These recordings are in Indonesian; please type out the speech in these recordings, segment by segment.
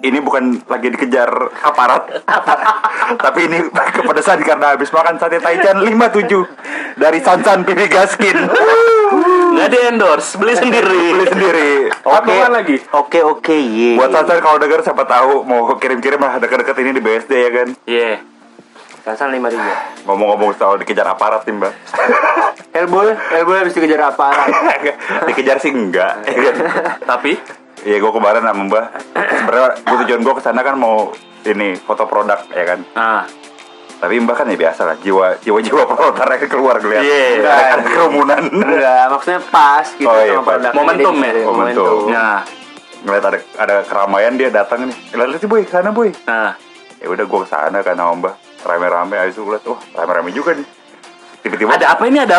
ini bukan lagi dikejar aparat. Tapi ini kepedesan karena habis makan sate Taichan 57 dari Sansan Pipi Gaskin. Nggak di endorse, beli sendiri. Oke lagi. Oke, ye. Buat Sansan kalau denger siapa tahu mau kirim-kirim lah deket-deket ini di BSD ya kan. Iya. Sansan 5.000. Ngomong-ngomong soal dikejar aparat nih Mbak. Hellboy habis dikejar aparat. Dikejar sih enggak. Tapi Iya gue kemarin sama Mbak. Sebenarnya tujuan gue kesana kan mau ini foto produk ya kan. Tapi Mbak kan ya biasa lah jiwa proletarnya keluar kelihatan. Iya. Ada kerumunan. Enggak, maksudnya pas gitu sama produk. Momentum ya. Momentum. Nah, Ngeliat ada keramaian dia datang nih. Lihat sih boy, kesana boy. nah. Ya udah gue kesana kan sama Mbak. Rame-rame habis itu lihat, wah rame-rame juga nih. Tiba-tiba Ada apa ini?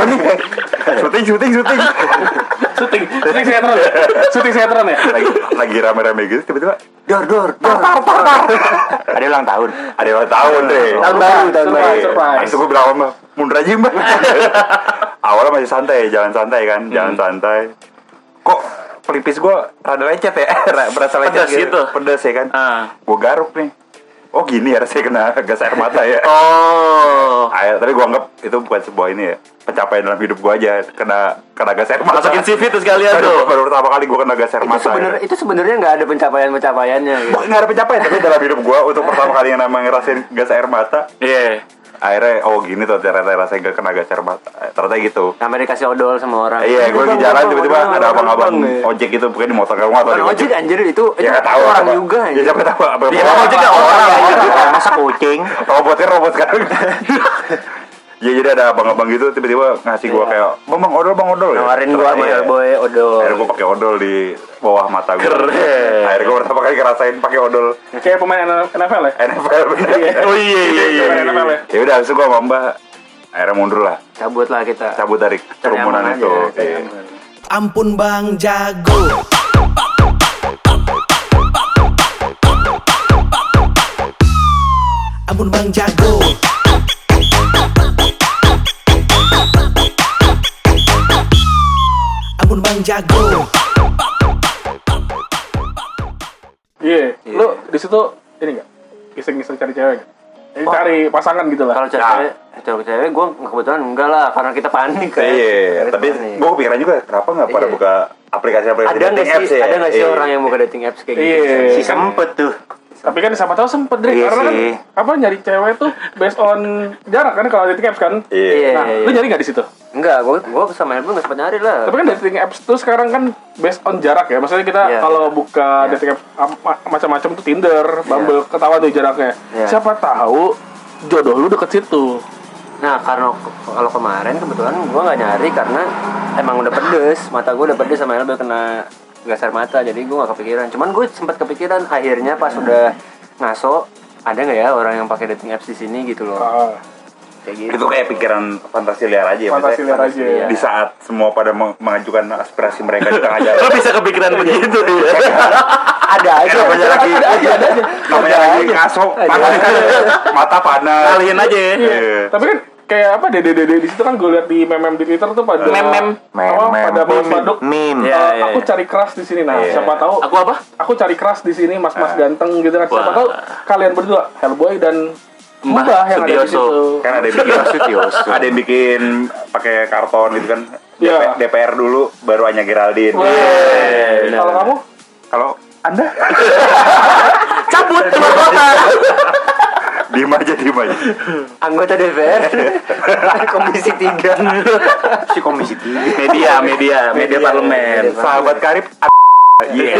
syuting Syuting sinetron ya. lagi rame-rame gitu tiba-tiba Dor. ada ulang tahun deh. Tahun baru. Surprise. Habis itu gue bilang sama Mbak, mundur aja Mbak. Awalnya masih santai, jalan santai kan, jalan santai. Kok pelipis gue rada lecet ya, berasa lecet Pedas gitu. Pedas ya kan. Gue garuk nih. Oh gini ya rasanya kena gas air mata ya. Oh. Tapi gue anggap itu bukan sebuah ini ya, pencapaian dalam hidup gue aja, kena gas air mata. Masukin CV tuh sekalian tuh. Baru pertama kali gue kena gas air mata. Itu sebenarnya nggak ada pencapaiannya gitu. Nggak ada pencapaian, tapi dalam hidup gue untuk pertama kali yang namanya ngerasain gas air mata. Iya. Akhirnya gini tuh ternyata rasanya gak kena gas air mata. Ternyata gitu. Sampai dikasih odol sama orang. Iya, gue lagi jalan tiba-tiba ada abang-abang ojek gitu, bukan di motor kamu atau di ojek anjir itu ya nggak tahu orang apa. juga. Ya siapa tahu apa. Ya ojek kan orang. Masa kucing. Robot sekarang. Ya jadi ada abang-abang gitu tiba-tiba ngasih gue kayak bang odol ya. Nawarin gue sama Hellboy odol. Akhirnya gue pakai odol di bawah mata gue. Keren. Akhirnya gue pertama kali ngerasain pakai odol. Kayak pemain NFL ya. NFL bener. Oh iya. Pemain NFL ya. Ya udah, habis itu gue sama Mbak akhirnya mundur lah. Cabut dari kerumunan aman itu. aja. Iya. Ampun Bang Jago. Ampun Bang Jago. Ampun Bang Jago. Iya. Lu di situ ini enggak? Iseng-iseng cari cewek enggak? Ini cari pasangan gitu lah. Kalau cewek gue kebetulan enggak lah, karena kita panik kan. Iya, tapi gue kepikiran juga kenapa nggak pada buka aplikasi-aplikasi Ada nggak dating apps sih? ya? Ada nggak sih orang yang buka dating apps kayak gitu? Iya. Si sempet tuh. Tapi kan siapa tahu sempet Dre, Iya karena sih. kan nyari cewek tuh based on jarak kan kalau dating apps kan. Iya. Nah, lu nyari nggak di situ? Enggak, gue sama Hellboy nggak sempat nyari lah. Tapi kan dating apps tuh sekarang kan based on jarak ya. Maksudnya kita Iya, kalau buka dating apps macam-macam tuh Tinder, Bumble, ketahuan tuh jaraknya. Iya. Siapa tahu jodoh lu deket situ. Nah, karena kalau kemarin kebetulan gue nggak nyari karena emang udah pedes, mata gue udah pedes sama Hellboy kena gas air mata, jadi gue nggak kepikiran. Cuman gue sempat kepikiran akhirnya pas udah ngaso, ada nggak ya orang yang pakai dating apps di sini gitu loh. Kayak gitu. Itu kayak pikiran fantasi liar aja ya. Fantasi liar aja ya. Di saat semua pada mengajukan aspirasi mereka di tengah jalan. Lo bisa kepikiran begitu ya? Ada aja, Namanya lagi namanya lagi ngaso, mata panas. Kalian aja ya. Iya. Tapi kan kayak apa dede di situ kan gue lihat di meme di Twitter tuh pada pada baduk Meme. aku cari crush di sini. Nah, siapa tahu Aku apa? aku cari crush di sini mas-mas ganteng gitu kan. Siapa Wah. tahu kalian berdua Hellboy dan Mbah yang ada di Sutioso. situ. Kan ada yang bikin pakai karton gitu kan. Iya. DPR dulu baru Anya Geraldine. Kalau kamu? Kalau Anda Cabut keluar kota. diem aja. Anggota DPR Komisi 3. Si Komisi 3. Media parlemen. Sahabat karib. Iya.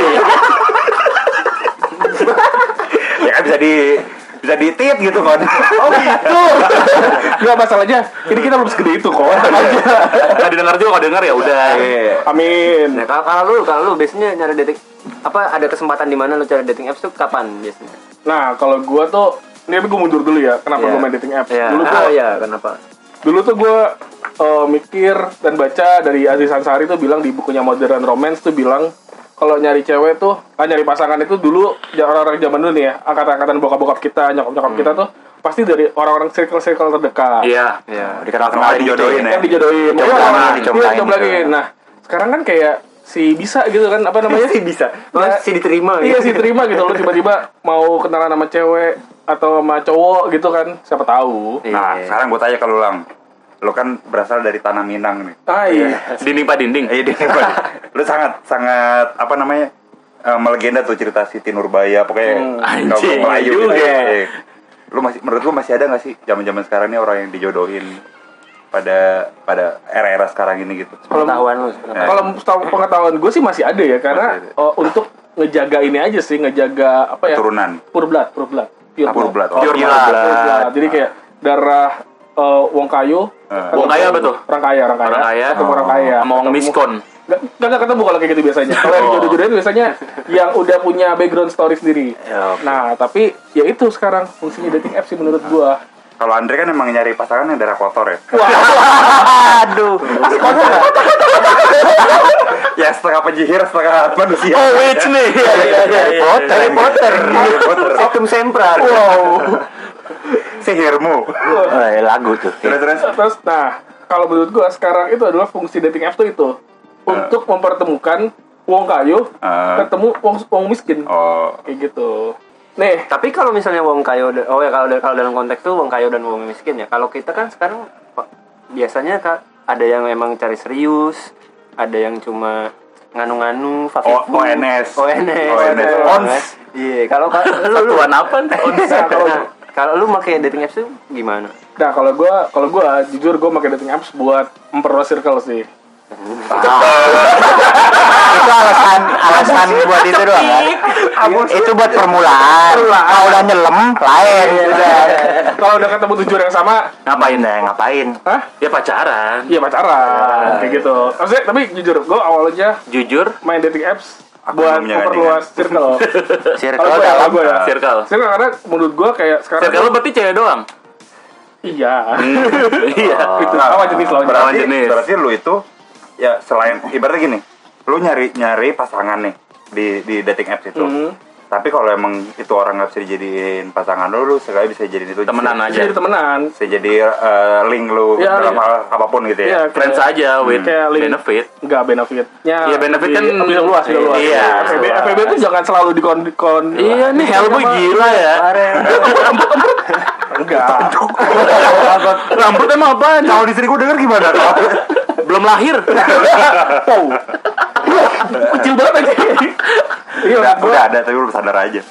Ya kan bisa ditit gitu kan. Oh gitu. Enggak masalahnya. Ini kita belum segede itu kok. Nggak didengar juga, kalau dengar ya udah. Amin. Nah, kalau lu biasanya nyari dating apa, ada kesempatan di mana lu cari dating apps tuh kapan biasanya? Nah, kalau gua tuh ini gue mundur dulu ya. Kenapa Iya. gua main dating apps? Iya. Kenapa? Dulu tuh gue mikir dan baca dari Aziz Ansari tuh bilang di bukunya Modern Romance tuh bilang kalau nyari cewek tuh, nyari pasangan itu dulu orang-orang zaman dulu nih ya, angkatan-angkatan bokap-bokap kita, nyokap-nyokap kita tuh pasti dari orang-orang circle terdekat. Iya. Dikenal dijodohin ya. Yang dijodohin. Dicomblangin. Nah, sekarang kan kayak si bisa gitu kan, apa namanya? Si bisa. Ya, Si diterima Iya, gitu. si terima gitu. Lo tiba-tiba mau kenalan sama cewek atau sama cowok gitu kan, siapa tahu. Nah, Iya. sekarang gue tanya ke lu, Lang. Lu kan berasal dari tanah Minang nih. Ah iya. Dinding pak dinding. Iya, lu sangat apa namanya? Melegenda tuh cerita Siti Nurbaya, pokoknya Anjing, Melayu juga. gitu. Iya. Lu menurut lu masih ada nggak sih zaman-zaman sekarang ini orang yang dijodohin pada era-era sekarang ini gitu? Pengetahuan lu. Kalau pengetahuan gue sih masih ada ya, karena Masih ada. untuk ngejaga ini aja sih, ngejaga apa ya? Turunan. Pure blood. Pure Pure blood. Pure Pure blood. blood. Jadi kayak darah Wong Kayu. Wong Kayu apa tuh? Orang kaya. Orang kaya. Ketemu orang kaya. Sama Wong Miskon. Gak ketemu kalau kayak gitu biasanya. Kalau yang jodoh-jodohin biasanya yang udah punya background story sendiri. Ya, oke. Nah, tapi ya itu sekarang fungsinya dating apps sih menurut gua. Kalau Andre kan emang nyari pasangan yang darah kotor ya. Aduh. Ya setengah penyihir, setengah manusia. Oh, witch nih. Harry Potter. Harry Potter. Septum Sempra. Sihirmu. Lagu tuh. Terus, nah, kalau menurut gua sekarang itu adalah fungsi dating apps tuh itu untuk mempertemukan Wong Kayu ketemu Wong miskin. Oh. Kayak gitu. Nih, Tapi kalau misalnya Wong Kayo, kalau dalam konteks tuh Wong Kayo dan Wong miskin ya. Kalau kita kan sekarang biasanya ada yang emang cari serius, ada yang cuma nganu-nganu, fafifu. ONS. ONS. Ons. Iya, kalau lu Satuan apa nih? kalau lu pakai dating apps tuh gimana? nah kalau gua jujur gua pakai dating apps buat memperluas circle sih. Itu alasan buat itu doang kan? Itu buat permulaan. Kalau udah nyelem lain. Kalau udah ketemu tujuan yang sama, Ngapain? hah? Ya pacaran. Iya pacaran, kayak gitu. Maksudnya, tapi jujur, gue awalnya Jujur. main dating apps Aku buat belum memperluas circle. Circle Kalau dalam. gue ya, Circle. circle karena menurut gue kayak sekarang. Circle lu berarti cewek doang. Iya. Iya. Itu lawan jenis lawan jenis. Lawan jenis. Berarti lu itu ya selain ibaratnya gini, lu nyari pasangan nih di dating apps itu. Tapi kalau emang itu orang nggak bisa dijadiin pasangan lu sekali bisa jadiin itu Temenan bisa- aja. Jadi temenan. Bisa jadi link lu Iya, dalam iya. hal apapun gitu ya. Iya, Friends aja with kayak link. benefit. Enggak benefitnya. Iya, benefit kan bisa luas, bisa luas. iya. FB itu jangan selalu dikon. Iya nih Hellboy gila ya. Enggak. Rambut emang apaan? Kalau di sini gue denger gimana? Belum lahir. Wow. Kecil banget aja. Iya, udah ada tapi lu sadar aja.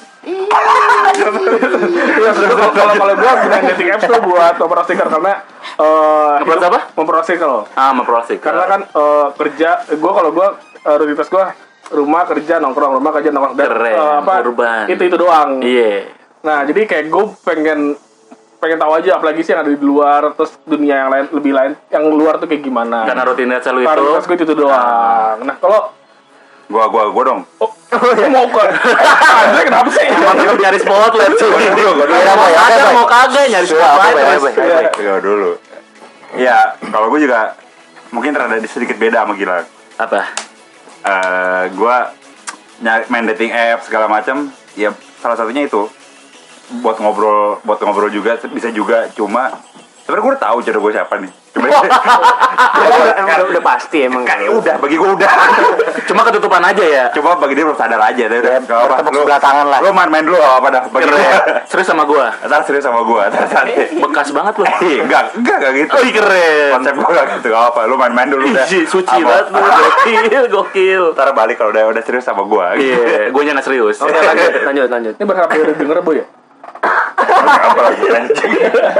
Iya, kalau gue gunain dating apps tuh buat memperluas circle karena Memperluas apa? Memperluas circle. Memperluas. Karena kan kerja, kalau gue rutinitas gue rumah kerja nongkrong dan Keren, urban. itu doang. Iya. Nah jadi kayak gue pengen tahu aja apalagi sih yang ada di luar, terus dunia yang lain yang luar tuh kayak gimana. Karena rutinitas lu itu. Rutinitas gue itu doang. Nah kalau Gua dong. mau ke Andre kenapa sih? Emang lu nyari spotlight sih. Gua dulu. Mau kagak nyari spotlight terus. Gua dulu. Ya, kalau gue juga mungkin rada sedikit beda sama Gilang. Apa? Gua main dating app segala macam, ya salah satunya itu buat ngobrol juga bisa juga, cuma sebenarnya gue udah tahu jodoh gue siapa nih. Cuma udah pasti emang. kan udah bagi gue udah. Cuma ketutupan aja ya. Coba bagi dia belum sadar aja, tapi udah enggak apa. bertepuk sebelah tangan lah. Lu main dulu apa dah bagi dia. Serius sama gua. Ntar serius sama gue. Bekas banget lu. Enggak gitu. Oh, keren. Konsep gue gak gitu, gak apa. Lu main dulu dah. Ih, suci Apa- banget lu. Gokil. Ntar balik kalau udah serius sama gue. Iya, gue nya nggak serius. Oke, lanjut. Ini berharap dia udah denger Boy ya? Apa lagi anjing.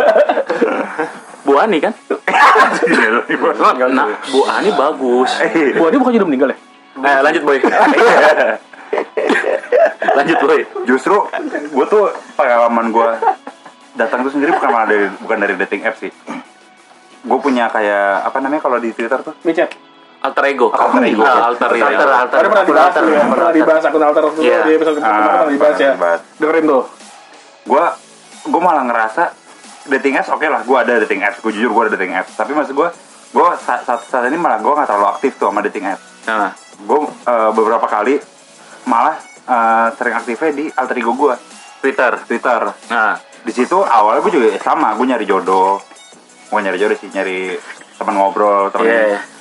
Bu Ani kan? Nah, Bu Ani bagus. Wah dia bukan udah meninggal ya? Lanjut boy. Lanjut boy. Justru gue tuh pengalaman gue datang tuh sendiri bukan dari dating app sih. Gue punya kayak apa namanya kalau di Twitter tuh Micet. Alter ego. Alter ego. Alter ego. Tadi pernah dibahas tuh ya, pernah dibahas akun alter tuh Iya. di episode pertama pernah dibahas ya. dibahas. Dengerin tuh. Gue malah ngerasa dating apps oke lah, gue ada dating apps, gue jujur gue ada dating apps, tapi maksud gue saat ini malah gue nggak terlalu aktif tuh sama dating apps. Nah, Gue beberapa kali malah sering aktifnya di alter ego gue, Twitter. Nah, di situ awalnya gue juga sama, gue nyari jodoh sih, nyari teman ngobrol, teman Iya.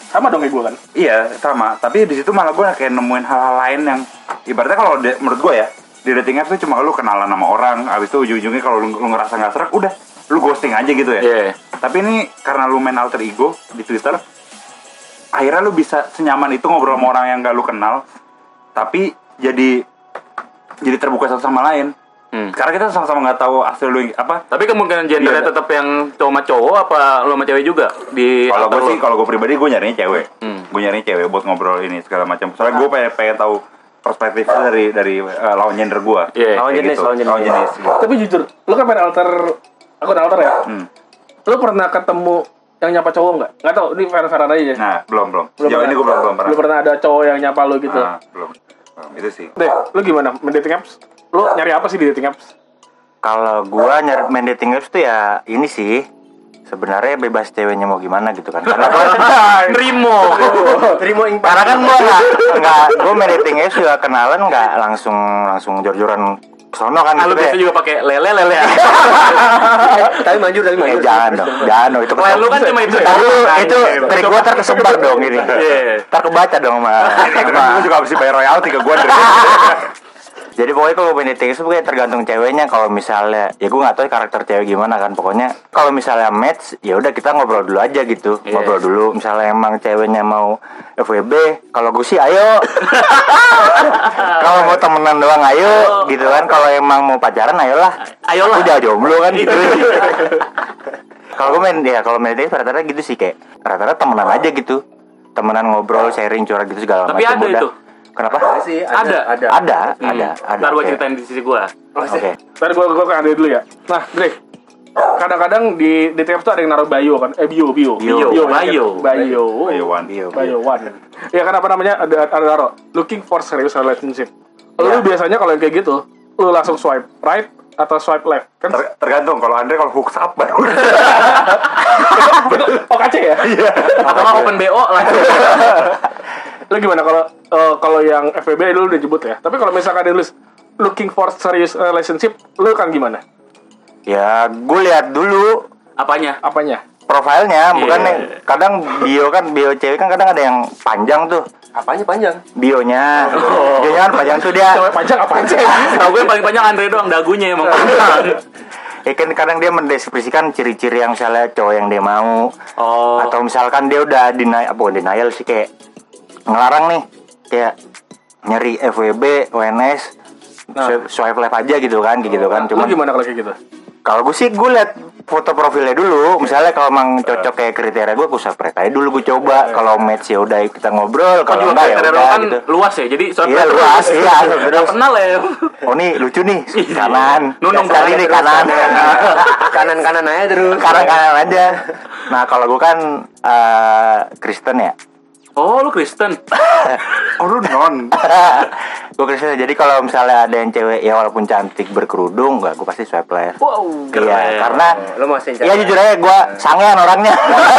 Sama dong kayak gue kan. Iya sama, tapi di situ malah gue kayak nemuin hal-hal lain yang ibaratnya kalau menurut gue ya di dating apps tuh cuma lu kenalan sama orang, abis itu ujung-ujungnya kalau lu ngerasa nggak serak, udah lu ghosting aja gitu ya. Iya. Tapi ini karena lu main alter ego di Twitter, akhirnya lu bisa senyaman itu ngobrol sama orang yang gak lu kenal, tapi jadi terbuka satu sama lain. Karena kita sama-sama nggak tahu asli lu apa. Tapi kemungkinan gendernya Iya. tetap yang cowok sama cowok apa lu sama cewek juga di Kalau gue alter sih, lu? kalau gue pribadi gue nyarinya cewek. Gue nyarinya cewek buat ngobrol ini segala macam. Soalnya gue pengen tahu perspektifnya dari lawan gender gue. Iya. Lawan jenis, lawan jenis. Gitu. Tapi jujur, lu kan main akun alter ya. Lu pernah ketemu yang nyapa cowok nggak? Nggak tahu, ini fair-fairan aja. Nah, belum. Sejauh ini gue belum pernah. Belum pernah ada cowok yang nyapa lu gitu. Nah, belum. Itu sih. Deh, lu gimana main dating apps? Lu nyari apa sih di dating apps? Kalau gua main dating apps tuh ya ini sih sebenarnya bebas ceweknya mau gimana gitu kan. Karena gua Terima ing karena kan gua nggak gua main dating apps juga kenalan nggak langsung jor-joran kesono kan Lu gitu biasa ya. juga pakai lele ya. tapi manjur. Jangan dong itu Lu kan cuma itu. itu trik gua terkesebar dong ini. Iya. Terkebaca dong Gue juga harus bayar royalti ke gue. Jadi pokoknya kalau main dating itu pokoknya tergantung ceweknya. Kalau misalnya ya gue nggak tahu karakter cewek gimana kan. Pokoknya kalau misalnya match ya udah kita ngobrol dulu aja gitu. Yes. Ngobrol dulu. Misalnya emang ceweknya mau FWB, kalau gue sih ayo. Kalau mau temenan doang ayo gitu kan. Kalau emang mau pacaran ayolah. Ayolah. Udah jomblo kan gitu. Kalau gue kalau main dating rata-rata gitu sih kayak rata-rata temenan aja gitu. Temenan ngobrol, sharing, curhat gitu segala macam. Tapi ada udah. itu. Kenapa? sih Ada. Ada. Ntar gue Oke. ceritain di sisi gue. Oke. Tadi gue ke Andre dulu ya. Nah, Dre, kadang-kadang di dating apps tuh ada yang naruh bio kan? Bio. Bio. Bio one. Ya kan apa namanya? Ada naruh looking for serious relationship. Lu biasanya kalau yang kayak gitu, lu langsung swipe right atau swipe left? Kan Tergantung. Kalau Andre kalau hooks up baru. OKC ya? Atau nggak open BO lah. Lu gimana kalau yang FWB lu udah jebut ya? Tapi kalau misalkan ada nulis looking for serious relationship, lu kan gimana? Ya, gue lihat dulu Apanya? Apanya? profilnya, bukan yang kadang bio cewek kan kadang ada yang panjang tuh apanya panjang? bionya. Bionya kan panjang tuh dia. Cewek panjang apaan sih? Tahu gue yang paling panjang Andre doang, dagunya emang. Ya kan kadang dia mendeskripsikan ciri-ciri yang misalnya cowok yang dia mau. Oh. Atau misalkan dia udah denial sih kayak ngelarang nih kayak nyari FWB, ONS, swipe left aja gitu kan, kayak gitu kan. Lu Cuman gimana kalau kayak gitu? kalau gue sih gue liat foto profilnya dulu. Misalnya kalau emang cocok kayak kriteria gue swipe right aja dulu gue coba. Kalau match ya udah kita ngobrol. Kalau Kalau enggak ya kriteria udah kan gitu. luas ya, jadi Iya luas, iya Nggak terus. kenal ya. Oh nih lucu nih kanan. Nunung Sekali nih kanan. Kanan aja terus. Kanan aja. Nah kalau gue kan Kristen ya. Oh, lu Kristen. Oh lu non. Gue Kristen. Jadi kalau misalnya ada yang cewek ya walaupun cantik berkerudung, gue pasti swipe left. Wow, Iya karena Lo masih ya jujur aja gue sangean orangnya.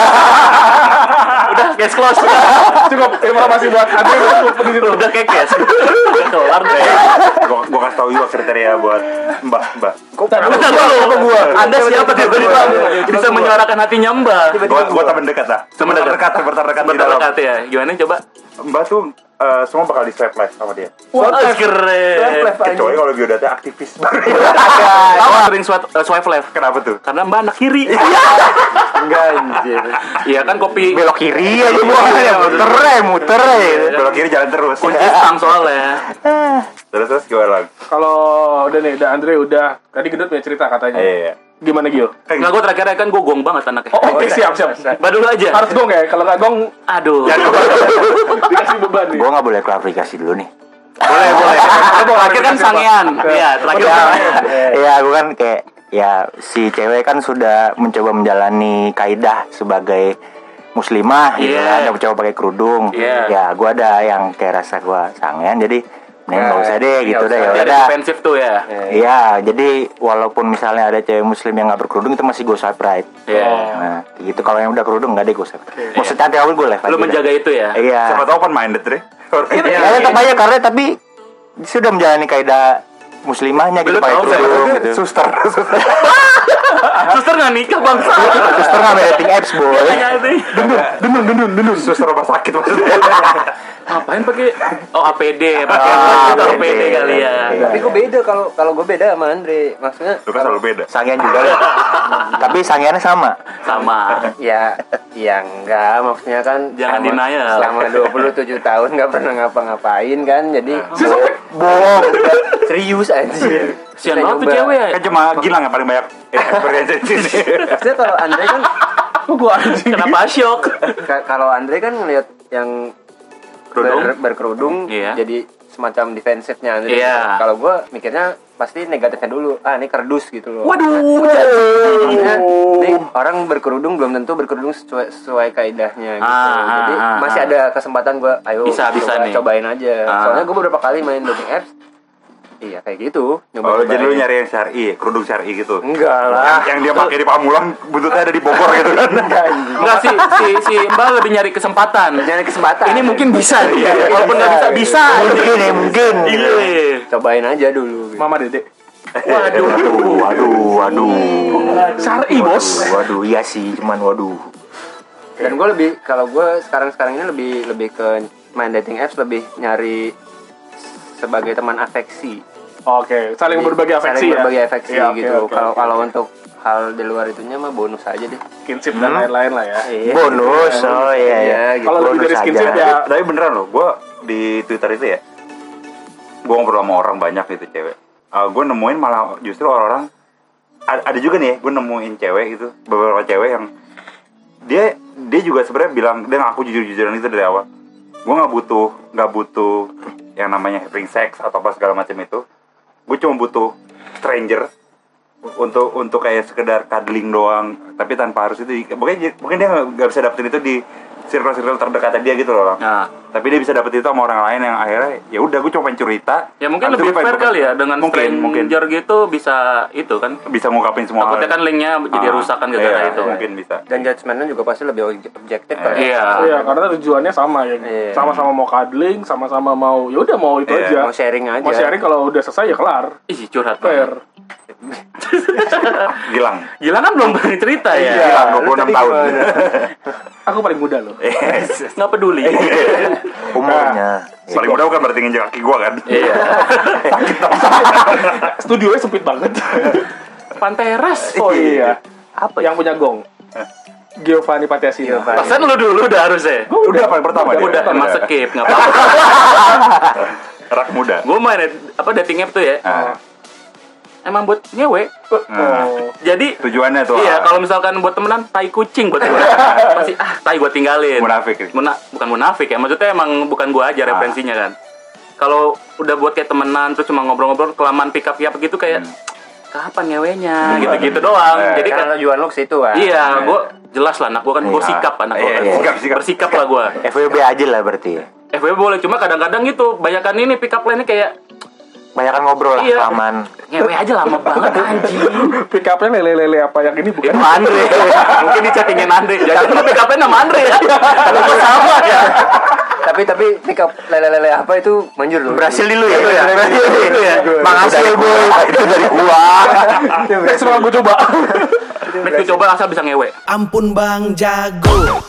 udah case close. Cukup informasi buat Andre cukup di situ. Udah kayak case. Udah kelar deh. Gue kasih tau juga kriteria buat Mbak. Bentar dulu. Anda siapa tiba-tiba bisa menyuarakan hatinya Mbak? Gue temen dekat lah. Temen terdekat di dalam. Berdekat ya. Gimana coba? Mbak tuh semua bakal di swipe left sama dia. Wah, keren. Kecuali kalau biodatanya aktivis. Tahu sering swipe left. Kenapa tuh? Karena Mbak anak kiri. enggak anjir. Iya kan kopi Belok kiri aja gue muter ya. Belok kiri jalan terus. kunci stang soalnya. Terus gimana? Kalau udah nih, Andre udah tadi Gendut punya cerita katanya. Iya. Gimana Gil? Nggak, gue terakhir kan gue gong banget anaknya. Oh, oke, siap. Mbak dulu aja. Harus gong ya, kalau nggak gong Aduh. dikasih beban nih. Gue nggak boleh klarifikasi dulu nih. Boleh. Terakhir kan sangean. Iya, terakhir sangean. Iya, gue kan kayak ya si cewek kan sudah mencoba menjalani kaidah sebagai muslimah gitu Iya. kan, dia mencoba pakai kerudung. Iya. Ya, gue ada yang kayak rasa gue sangean, jadi mending nggak usah deh gitu deh. Ya Jadi ada udah. defensif tuh ya. Iya, jadi walaupun misalnya ada cewek muslim yang nggak berkerudung itu masih gue swipe right. Iya. Nah, gitu kalau yang udah kerudung nggak deh gue swipe. Mau secantik apapun gue left aja. Lu menjaga itu ya. Iya. Siapa tau open minded deh. Ya tetap aja karena tapi sudah menjalani kaidah muslimahnya gitu Lu pakai tahu, kerudung gitu. Suster. Suster nggak nikah bangsa. Suster nggak main dating apps boy. Dendun. Suster rumah sakit maksudnya. Ngapain pakai APD, pakai APD kali ya. Tapi gue beda kalau gue beda sama Andre. Maksudnya Lu kan selalu beda. Sangean juga lah. Tapi sangeannya sama. Sama. ya enggak, maksudnya kan Jangan denial. selama 27 tahun nggak pernah ngapa-ngapain kan, jadi Bohong. serius aja. Sian banget tuh cewek ya. Kan cuma Gilang yang paling banyak experience di sini. Maksudnya kalau Andre kan Kok gue anjing? Kenapa syok? kalau Andre kan ngelihat yang berkerudung Iya. jadi semacam defensifnya Andre. Iya. Kalau gue mikirnya pasti negatifnya dulu. Ini kerdus gitu loh. Waduh. Maksudnya, nih orang berkerudung belum tentu berkerudung sesuai kaidahnya gitu. Jadi masih ada kesempatan gue, ayo Bisa nih. cobain aja. Soalnya gue beberapa kali main dating apps. Iya kayak gitu. Oh, jadi lu nyari yang syar'i, kerudung syar'i gitu. Enggak lah. Yang dia pakai di Pamulang, buntutnya ada di Bogor gitu kan. Enggak si Mbak lebih nyari kesempatan. Nyari kesempatan. Ini mungkin bisa nih. Walaupun nggak bisa. Mungkin. Iya. Cobain aja dulu. Mama Dede. Waduh. Syar'i bos. Waduh, iya sih, cuman waduh. Dan gue kalau gue sekarang ini lebih ke main dating apps, lebih nyari sebagai teman afeksi. Oke, saling berbagi afeksi Saling ya. berbagi afeksi Iya, oke, gitu. oke, Kalau untuk hal di luar itunya mah bonus aja deh. Kinship dan lain-lain lah ya. Iya. Bonus, oh iya. Gitu. Kalau lebih dari Bonus skinship aja. ya. Tapi beneran loh, gue di Twitter itu ya, gue ngobrol sama orang banyak gitu cewek. Gue nemuin malah justru orang-orang ada juga nih ya, gue nemuin cewek gitu, beberapa cewek yang dia juga sebenarnya bilang dia ngaku jujur-jujuran itu dari awal. Gue nggak butuh yang namanya having sex atau apa segala macam itu. Gue cuma butuh stranger untuk kayak sekedar cuddling doang, tapi tanpa harus itu. Mungkin dia nggak bisa dapetin itu di circle terdekat dia gitu loh. Nah, Tapi dia bisa dapetin itu sama orang lain yang akhirnya ya udah gue cuma pengen cerita. ya mungkin Habis lebih itu gue fair pengen- kali ya dengan mungkin stranger gitu bisa itu kan. bisa ngungkapin semua Takutnya kan linknya jadi rusakan gitu iya, karena itu. mungkin bisa. Dan judgementnya juga pasti lebih objektif kan. Iya. Iya, karena tujuannya sama ya. Iya. Sama-sama mau cuddling, sama-sama mau ya udah mau itu Iya, aja. Mau sharing aja. Mau sharing kalau udah selesai ya kelar. Ih, curhat Fair. banget. Gilang. Gila kan belum banyak cerita ya. Gilang lu 26 tadi tahun. gimana? Aku paling muda loh. Nggak peduli. Umurnya. Paling mudah bukan berarti nginjek kaki gue kan. Iya. Studionya sempit banget. Panteras. Oh iya. Apa Yang punya gong. Giovanni Patiasina. Giovanni. Pasan lu dulu udah harusnya. Udah paling pertama dia. Udah emang skip nggak apa-apa. Rak muda. Gue main dating app tuh ya. Nah, Emang buat ngewe. Oh. Jadi tujuannya tuh. iya, kalau misalkan buat temenan tai kucing buat gue. Pasti tai gue tinggalin. Munafik. Bukan munafik ya. Maksudnya emang bukan gue aja referensinya kan. Kalau udah buat kayak temenan terus cuma ngobrol-ngobrol kelamaan pick up gitu kayak kapan ngewenya gitu-gitu doang. Jadi kan Karena tujuan lu ke situ kan. iya, gue jelas lah anak gue kan bersikap anak gue kan. Sikap. Bersikap lah gue. FWB aja lah berarti. FWB boleh, cuma kadang-kadang gitu banyakan ini pick up line-nya kayak Banyakan ngobrol lah, Iya. aman. ngewe aja lama banget anjing. Pick up-nya lele-lele apa yang ini bukan? Itu Andre. Mungkin di chattingin Andre. Jadi itu pick up-nya nama Andre ya. Kok sama ya? Tapi pick up lele-lele apa itu manjur loh. Berhasil di lu ya? Berhasil itu ya. Makasih ya boy. Itu dari gua. Semua gue coba. Next gue coba asal bisa ngewe. Ampun Bang Jago.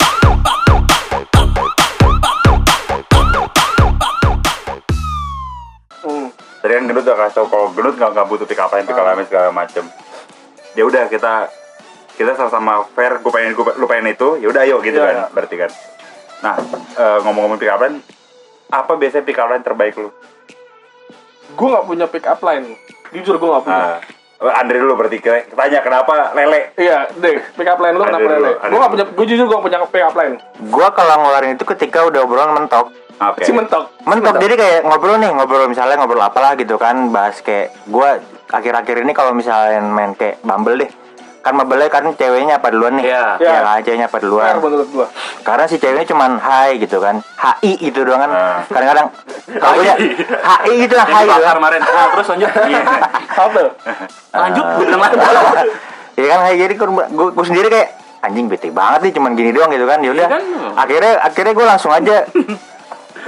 Tadi kan Gendut udah kasih tau kalau Gendut nggak butuh pick up line segala macem. Ya udah kita sama-sama fair. Lu pengen itu, ya udah ayo gitu Iya. kan, berarti kan. Nah, ngomong-ngomong pick up line, apa biasanya pick up line terbaik lu? Gue nggak punya pick up line. Jujur gue nggak punya. Andre dulu berarti tanya kenapa lele? Iya, deh. Pick up line lu Ada kenapa dulu, lele? ada Gue nggak dulu. punya. Gue jujur gue punya pick up line. Gua kalau ngeluarin itu ketika udah obrolan mentok. Oke. Si mentok. Mentok, jadi kayak ngobrol misalnya ngobrol apalah gitu kan, bahas kayak gua akhir-akhir ini kalau misalnya main kayak Bumble deh, kan Bumble kan ceweknya apa duluan nih? Iya. Ya kan, ceweknya apa Fair duluan? menurut gue. Karena si ceweknya cuman hai gitu kan, HI gitu doang kan. Kadang-kadang kalau punya HI gitu lah, hai Yang gitu bakar kan. kemarin. Terus lanjut. Iya. Apa? Lanjut, gue bilang lanjut. Ya kan kayak jadi gua sendiri kayak anjing bete banget nih cuman gini doang gitu kan. Ya udah. Iya kan? Akhirnya gua langsung aja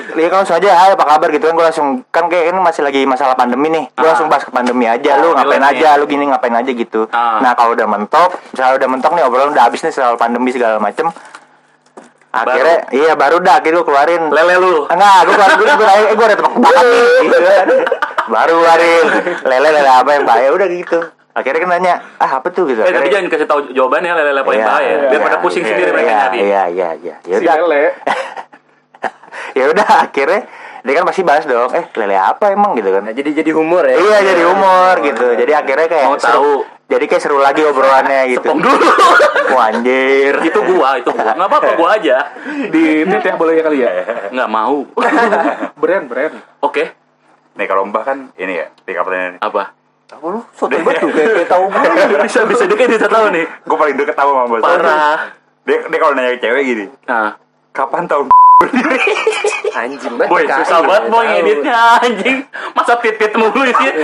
Dia kan langsung aja, "Hai, apa kabar?" gitu kan. Gue langsung, kan kayak ini masih lagi masalah pandemi nih. Gue langsung bahas ke pandemi aja. Lu ngapain aja, lu gini ngapain aja gitu. Nah, kalau udah mentok, misalnya udah mentok nih obrolan udah habis nih soal pandemi segala macem. Akhirnya baru dah akhirnya gue keluarin Lele lu. enggak, gue udah tebak-tebakan nih gitu kan. Baru keluarin lele apa yang bahaya udah gitu. Akhirnya kan nanya, apa tuh gitu. Tapi jangan kasih tahu jawabannya lele apa yang bahaya. Biar pada pusing sendiri mereka nyari. Iya. Ya Si udah. lele. Ya udah akhirnya dia kan pasti bahas dong, lele apa emang gitu kan. Nah, jadi humor ya. Iya, jadi humor gitu. Jadi akhirnya kayak Mau tahu. Jadi kayak seru lagi obrolannya gitu. Tong dulu. Wah, anjir. Itu gua. Enggak apa-apa gua aja. Di net ya boleh ya kali ya. Enggak mau. Brand. Oke. Nih kalau Mbah kan ini ya, pick up line ini. Apa? Tahu lu soto banget tuh kayak tahu gue. Bisa dia kayak bisa tahu nih. Gue paling deket tahu sama Mbah. Parah. Dia kalau nanya ke cewek gini, Nah, kapan tahun Anjing banget. boy, PKI, susah banget ya, boy tahu. ngeditnya anjing. Masa tit mulu isinya.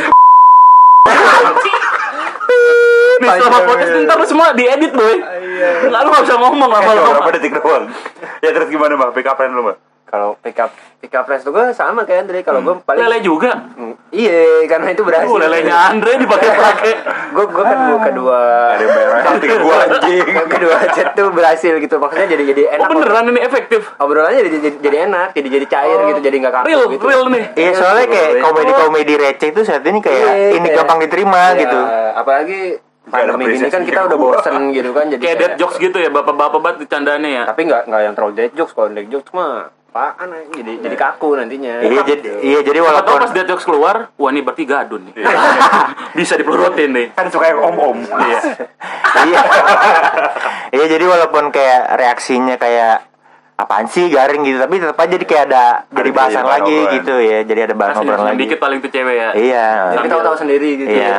Nih selama podcast ntar lu semua diedit boy. Nggak, lu nggak bisa ngomong berapa lama-lama. detik doang? Ya terus gimana Mbah? Pick up line lu Mbah? Kalau pick up lines tuh gue sama kayak Andre. Kalau gue paling Lele juga. Iya, karena itu berhasil. Lelenya Andre dipakai-pakai. Gue kan kedua Ada yang bayar nanti ke gue anjing. kedua chat tuh berhasil gitu. Maksudnya jadi Oh enak. beneran ini efektif. Obrolannya jadi enak, jadi cair gitu, jadi nggak kaku gitu. Real nih. Iya, soalnya kayak komedi-komedi receh itu saat ini kayak ini gampang diterima Iya, gitu. Apalagi pandemi gini kan apresiasi kita udah bosen gitu kan, jadi Kayak dead jokes gitu ya, bapak-bapak banget bercandaannya ya. Tapi nggak yang terlalu dead jokes. Kalau dead jokes mah apaan jadi kaku nantinya. Jadi Siapa tahu walaupun pas dead jokes keluar, wah ini berarti gadun nih. Bisa dipelorotin nih. Kan suka yang om-om. Iya. iya. Iya, jadi walaupun kayak reaksinya kayak apaan sih garing gitu, tapi tetap aja jadi kayak ada jadi bahasan bahan lagi obrolan. gitu ya. Jadi ada bahan obrolan lagi. Dikit paling tuh cewek ya. Iya. Jadi tahu-tahu sendiri gitu. Iya.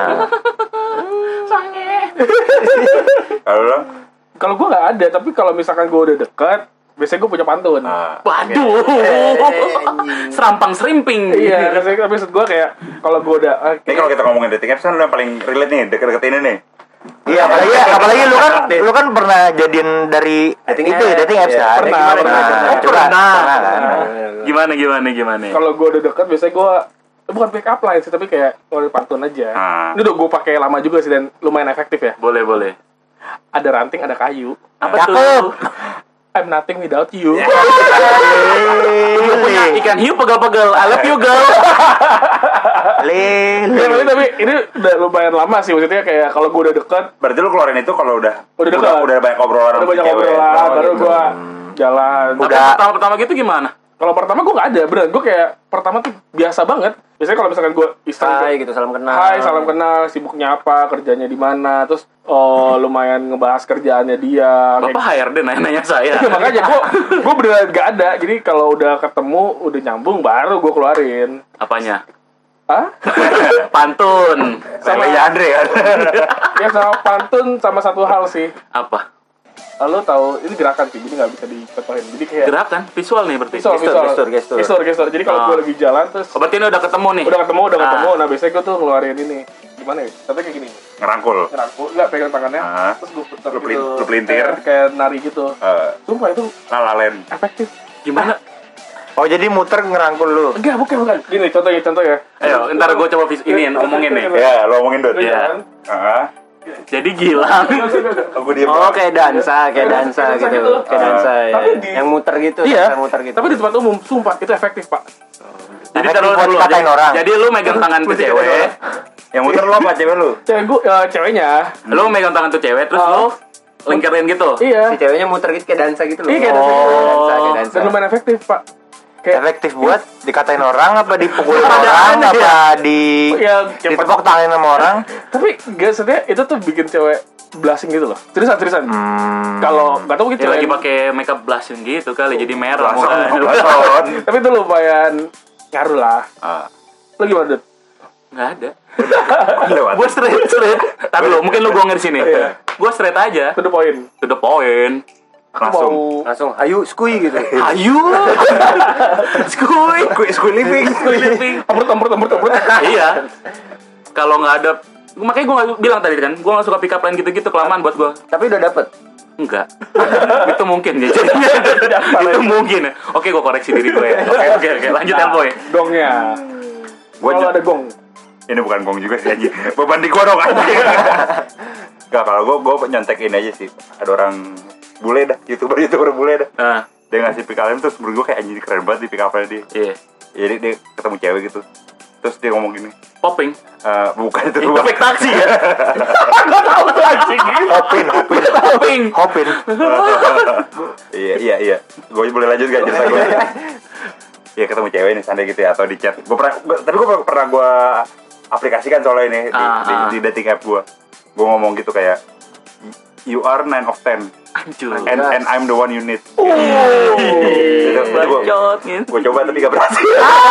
Kalau lo? Kalau gue nggak ada, tapi kalau misalkan gue udah dekat, biasanya gue punya pantun. Waduh. Serampang serimping. Iya, biasanya maksud gue kayak kalau gue udah Ini kalau kita ngomongin dating apps kan lo yang paling relate nih, deket-deket ini nih. Iya, apalagi lu kan pernah jadian dari Dating itu ya, apps. dating apps Iya. kan. Pernah. Coba, kan. Gimana? kalau gue udah dekat, biasanya gue bukan pick up line sih, tapi kayak ngeluarin pantun aja. Ini udah gue pakai lama juga sih dan lumayan efektif ya. Boleh. Ada ranting, ada kayu. Apa Cakep. tuh? I'm nothing without you. Lu punya ikan hiu pegal-pegal. I love you girl. Ya, tapi ini udah lumayan lama sih, maksudnya kayak kalau gue udah dekat, Berarti lu keluarin itu kalau udah dekat. udah banyak obrolan udah sama banyak cewek. obrolan, baru gue jalan. Tapi pertama gitu gimana? Kalau pertama gue nggak ada, beneran gue kayak pertama tuh biasa banget. Biasanya kalau misalkan gue iseng, Hai gitu, salam kenal. Hai, salam kenal, sibuknya apa, kerjanya di mana, terus lumayan ngebahas kerjaannya dia. Bapak HRD nanya saya. Kayak, makanya gue beneran gak ada. Jadi kalau udah ketemu, udah nyambung, baru gue keluarin. Apanya? Hah? Pantun. Sama Lelenya Andre kan. ya sama pantun sama satu hal sih. Apa? Lo tahu ini gerakan sih, jadi nggak bisa dicontohin. Jadi kayak Gerakan visual nih berarti. gestur. Jadi kalau gue lagi jalan terus Oh, berarti ini udah ketemu nih. udah ketemu. Nah biasanya gue tuh ngeluarin ini. Gimana ya? Tapi kayak gini. Ngerangkul. Ngerangkul, nggak pegang tangannya. Ah. Terus gue putar Lu gitu. pelintir. Kayak nari gitu. Sumpah itu Lalalen. efektif. Gimana? Oh, jadi muter ngerangkul lu. Enggak, bukan. Gini contoh ya. Ayo, ntar gue coba ini ngomongin nih. Ya, lo ngomongin Dut. Iya. Jadi Gilang. Aku diem. Oh, kayak dansa gitu. Kayak dansa ya. Tapi di- Yang muter gitu, Iya. dansa muter gitu. Tapi di tempat umum, sumpah itu efektif, Pak. Jadi Efektif taruh buat dulu. dikatain orang. Jadi lu megang tangan tuh cewek. Yang muter lo apa cewek lu? Ceweknya. Lu megang tangan tuh cewek terus lu lingkarin gitu. Iya. Si ceweknya muter gitu kayak dansa gitu loh. Iya, kayak dansa. Kayak dansa. Dan lumayan efektif, Pak. Efektif buat dikatain orang apa dipukulin orang apa Ya, ditepok tangan sama orang. Tapi gak sebenarnya itu tuh bikin cewek blushing gitu loh. Seriusan. Kalau nggak tahu mungkin Dia cewek lagi pakai makeup blushing gitu kali jadi merah Langsung. muka. tapi itu lumayan ngaruh lah. Lo gimana, Dut? Enggak ada. Lewat. Gue straight. Tapi lu mungkin lu gongnya di sini. Gue straight aja. To the point. To the point. Langsung. Langsung hayu skui gitu. Ayu. Skuy living. Tempur. Iya. Kalau nggak ada, makanya gue nggak bilang tadi kan, gue nggak suka pick up line gitu-gitu kelamaan buat gue. Tapi udah dapet. Enggak. Itu mungkin ya. Itu mungkin. Oke, gue koreksi diri gue ya. Oke. Lanjut ya, Boy. Gongnya. Kalau ada gong. Ini bukan gong juga sih anjing. Beban di gua dong anjing. Enggak, kalau gua nyontek ini aja sih. Ada orang bule dah, YouTuber bule dah. Dia ngasih pick up line terus menurut gua kayak anjing keren banget di pick up line dia. Iya. Jadi dia ketemu cewek gitu. Terus dia ngomong gini. Popping. Bukan itu. Itu fake taksi ya. Enggak tahu tuh anjing. Hopin. Iya. Gue boleh lanjut gak cerita gue? Iya, ketemu cewek nih sandi gitu ya, atau di chat. Gue pernah gue aplikasikan soalnya ini di dating app gue. Gue ngomong gitu kayak, you are 9 of 10 Anjir. and I'm the one you need. Bacot gitu. Gue coba tapi gak berhasil.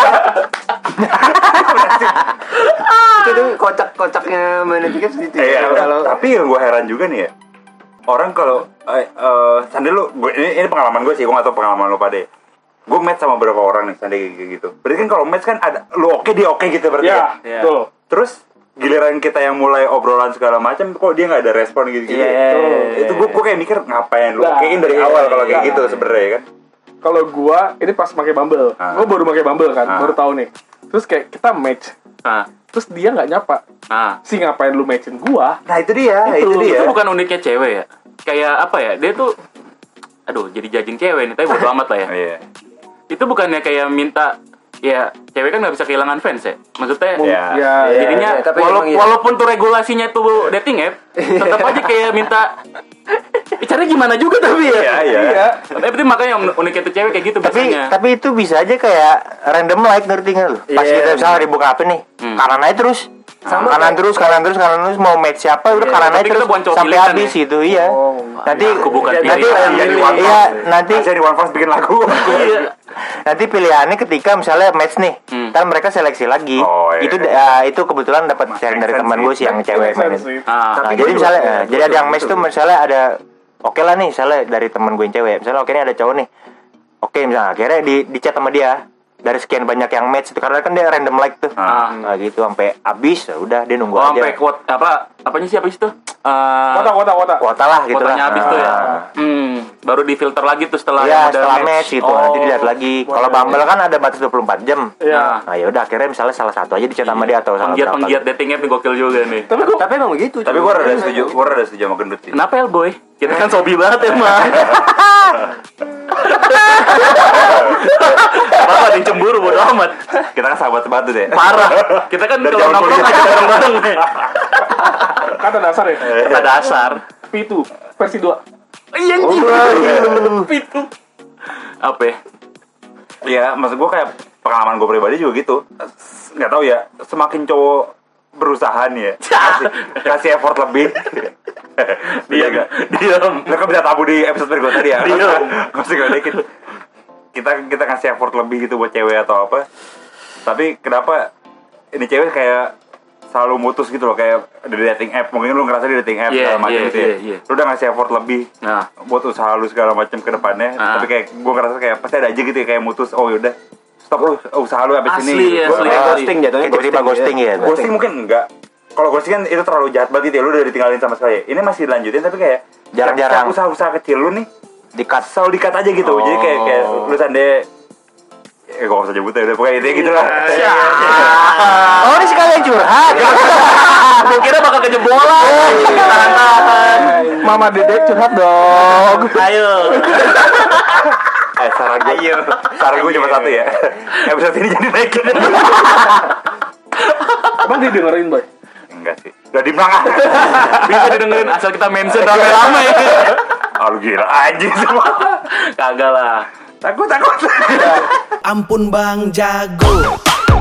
Itu tuh kocak-kocaknya main tiket gitu Iya, ya. Kalau tapi yang gue heran juga nih ya, orang kalau Sandi lu, ini pengalaman gue sih, gue gak tau pengalaman lu pada. Gue match sama beberapa orang nih Sandi kayak gitu. Berarti kan kalau match kan ada lu oke dia oke gitu berarti. Ya, Iya. betul. Terus giliran kita yang mulai obrolan segala macam, kok dia nggak ada respon gitu. Itu gue kayak mikir ngapain lu okein dari awal kalau kayak gitu sebenarnya kan. Kalau gua ini pas pakai Bumble. Gua baru pakai Bumble kan, baru tahu nih. Terus kayak kita match. Terus dia nggak nyapa. Si ngapain lu matchin gua? Nah itu dia. Itu bukan uniknya cewek ya. Kayak apa ya? Dia tuh jadi judging cewek nih, tapi bodo amat lah ya. Iya. Itu bukannya kayak minta ya cewek kan nggak bisa kehilangan fans ya. Maksudnya Ya, jadinya tapi walaupun tuh regulasinya tuh dating app, tetap aja kayak minta caranya gimana juga tapi ya. Iya. Tapi makanya uniknya tuh cewek kayak gitu biasanya. Tapi itu bisa aja kayak random like, ngerti nggak lu? Pas kita misalnya dibuka apa nih, kanan aja terus. Kanan terus mau match siapa udah kanan aja tapi kita terus bukan cowok sampai pilihan habis ya? itu iya. Nanti aku bukan nanti pilihan. nanti Saya di One Fast bikin lagu. nanti pilihannya ketika misalnya match nih, kan mereka seleksi lagi. Itu kebetulan dapat sharing dari teman gue sih yang cewek mainin. Nah, jadi misalnya jadi ada yang match tuh misalnya ada oke lah nih misalnya dari teman gue yang cewek misalnya oke nih ada cowok nih oke misalnya akhirnya di chat sama dia dari sekian banyak yang match itu karena kan dia random like tuh nah gitu sampai habis ya udah dia nunggu aja sampai apanya sih tuh Kuota lah gitu kuotanya lah habis tuh ya baru difilter lagi tuh setelah setelah match gitu nanti dilihat lagi kalau Bumble kan ada batas 24 jam nah ya udah akhirnya misalnya salah satu aja di chat sama dia atau salah berapa penggiat dating app nih gokil juga nih tapi emang begitu. Tapi gue rada setuju sama gendut sih. kenapa ya boy kita kan sobi banget emang apa ada yang cemburu bodo amat Kita kan sahabat batu deh. parah kita kan Dari kalau zaman nongkrong kuliah. kita bareng-bareng Kata dasar ya. kata dasar P2 versi 2. iya anjing itu apa ya Iya, maksud gue kayak pengalaman gue pribadi juga gitu. Nggak tahu ya, semakin cowok berusaha nih ya, kasih effort lebih. diam Lo kan bisa tabu di episode berikut tadi ya. Diam. Masih gak dikit. Kita kasih effort lebih gitu buat cewek atau apa. Tapi kenapa ini cewek kayak selalu mutus gitu loh, kayak di dating app. Mungkin lu ngerasa di dating app segala macam gitu ya. Lu udah ngasih effort lebih buat usaha lu segala macam ke depannya. Tapi kayak gue ngerasa kayak pasti ada aja gitu ya, kayak mutus. Oh yaudah, stop lu usaha lu habis ini. Ghosting jatuhnya. tiba-tiba ghosting ya Ghosting mungkin enggak. Kalau ghosting kan itu terlalu jahat banget gitu ya. Lu udah ditinggalin sama sekali. Ini masih dilanjutin tapi kayak Jarang-jarang. usaha-usaha kecil lu nih di-cut. selalu di-cut aja gitu. Jadi kayak lu sande gue gak usah nyebut ya, udah pokoknya intinya gitu lah. Oh ini sekalian curhat gue kira bakal kejebolan tahan Mama Dedek curhat dong. ayo Saran gue cuma satu ya. Episode ini jadi naikin. Emang dia dengerin boy? Enggak sih. Udah di belakang. bisa didengerin asal kita mention rame-rame Ah lu gila anjing semua. kagak lah Takut. Ampun Bang Jago.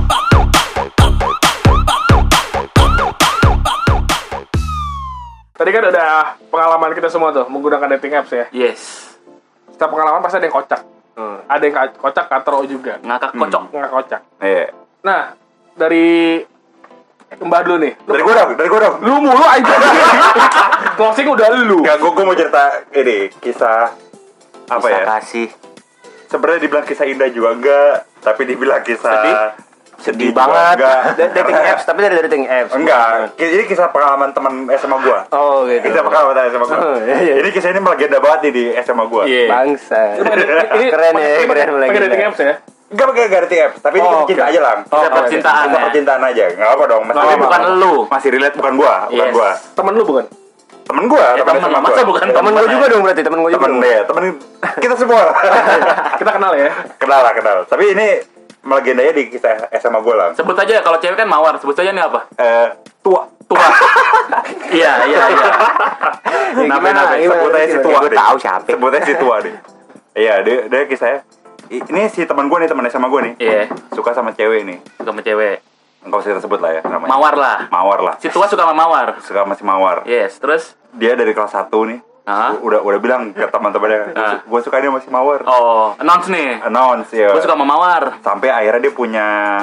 Tadi kan udah pengalaman kita semua tuh menggunakan dating apps ya. yes Setiap pengalaman pasti ada yang kocak. Ada yang kocak, katro juga. ngakak kocok Nggak kocak. Iya. Nah, dari Mbak dulu nih. Dari gue dong. Lu mulu aja. Closing udah lu. Enggak, gue mau cerita ini kisah apa bisa ya? kasih Sebenarnya dibilang kisah indah juga enggak, tapi dibilang kisah Sedih juga banget. enggak. Dating apps, tapi dari dating apps. Enggak, ini kisah pengalaman teman SMA gua. Oh gitu. Kisah pengalaman SMA gua. Oh, iya. Ini kisah ini melegenda banget nih di SMA gua. Iya. Bangsa. Ini Keren ya, keren pakai dating apps ya? Enggak pakai dating apps, tapi ini Oh, cinta oke. aja lang. Kisah percintaan Kisah ya. percintaan aja. Enggak apa dong. Tapi bukan lu. Masih relate bukan gua, bukan Yes. gua. Temen lu bukan? Temen gua, Ya, temen temen. SMA Masa gua. bukan Temen gue juga dong berarti, temen gue juga. Temen dong. deh, temen kita semua. Kita kenal ya. Kenal lah, kenal. Tapi ini melegendanya di kisah SMA gua lang. Sebut aja kalau cewek kan mawar, sebut saja nih apa? Tua. Tua. Iya. Namanya gimana? sebut aja si tua Gue deh. tahu siapa. Sebut aja si tua deh. Iya, dia kisahnya. Ini si teman gue nih, teman SMA gue nih. Iya. Suka sama cewek nih. Sama cewek. Enggak usah kita sebut lah ya namanya. Mawar lah. Mawar lah. Si tua suka sama mawar. Suka sama si Mawar. Yes, terus Dia dari kelas 1 nih. Hah? Udah bilang ke teman-temannya, Ah. gue suka dia sama si Mawar. oh, announce nih. Announce ya. Gue suka sama mawar. Sampai akhirnya dia punya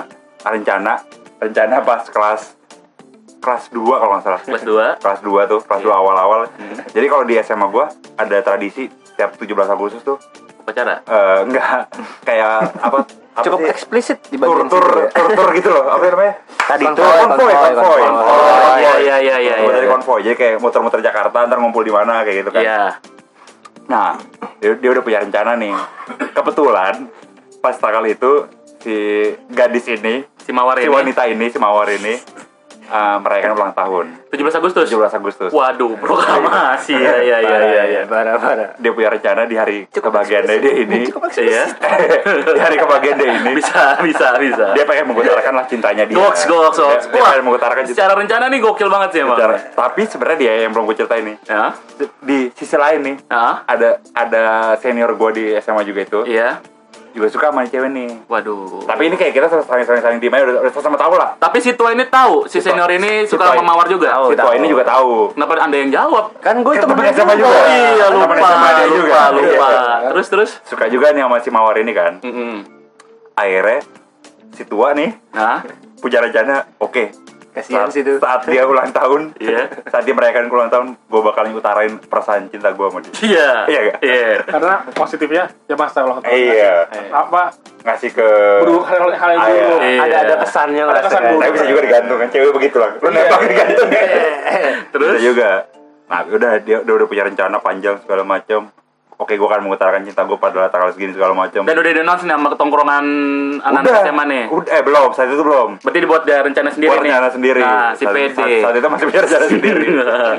rencana pas kelas 2 kalau nggak salah. Kelas 2. Kelas 2 tuh, kelas 2 awal-awal. Jadi kalau di SMA gue ada tradisi setiap 17 Agustus tuh Pacara. enggak kayak apa Cukup sih? eksplisit di bagian tur gitu loh, apa namanya? Tadi itu Konvoy. Oh, iya. Dari konvoy, jadi kayak muter-muter Jakarta, ntar ngumpul di mana kayak gitu kan. Iya. Nah, dia udah punya rencana nih. Kebetulan pas tanggal itu si gadis ini, Si mawar si ini. wanita ini, si Mawar ini merayakan ulang tahun 17 Agustus. 17 Agustus. Waduh, proklamasi. Iya. Parah. Dia punya rencana di hari kebahagiaannya dia ini. Iya. Di hari kebahagiaan dia ini. Bisa. Dia pengen mengutarakan lah cintanya dia. Goks. Dia pengen mengutarakan cinta. Secara rencana nih gokil banget sih emang. Tapi sebenarnya dia yang belum gue ceritain nih. Ya. Di sisi lain nih, Ah. ada senior gue di SMA juga itu. Iya. Juga suka sama cewek nih. Waduh. Tapi ini kayak kita saling tim aja udah sama tahu lah. Tapi si tua ini tahu, si senior ini suka sama mawar juga. Si tua ini juga tahu. Kenapa Anda yang jawab? Kan gue temen SMA juga. Oh iya, Temen SMA dia juga. lupa. Iya. Terus. Suka juga nih sama si Mawar ini kan. Akhirnya si tua nih Nah, punya rencana, oke. Kasihan sih tuh. Saat dia ulang tahun, Iya. saat dia merayakan ulang tahun, gue bakal ngutarain perasaan cinta gue sama dia. iya. Iya nggak? Iya. Karena positifnya ya pas ulang tahun. Iya. Apa Ngasih ke buruk hal yang Ah, iya. buruk. Iya. Ada kesannya Ada kesan kan. buruk. Tapi bisa juga digantung kan, cewek begitu lah. Lu nembak digantung kan. Terus Bisa juga. Nah, dia udah punya rencana panjang segala macam. Oke, gue akan mengutarakan cinta gue pada tanggal segini segala macam. dan udah di-announce nih sama ketongkrongan anak SMA nih. Belum, saat itu belum. Berarti dibuat dia rencana sendiri Buat nih. rencana sendiri. Nah, si Saat- PD. Saat itu masih punya rencana sendiri.